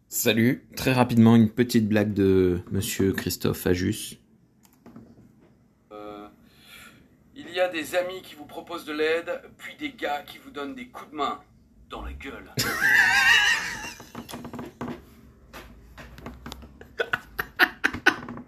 Salut, très rapidement une petite blague de Monsieur Christophe Ajus. Euh, il y a des amis qui vous proposent de l'aide, puis des gars qui vous donnent des coups de main dans la gueule.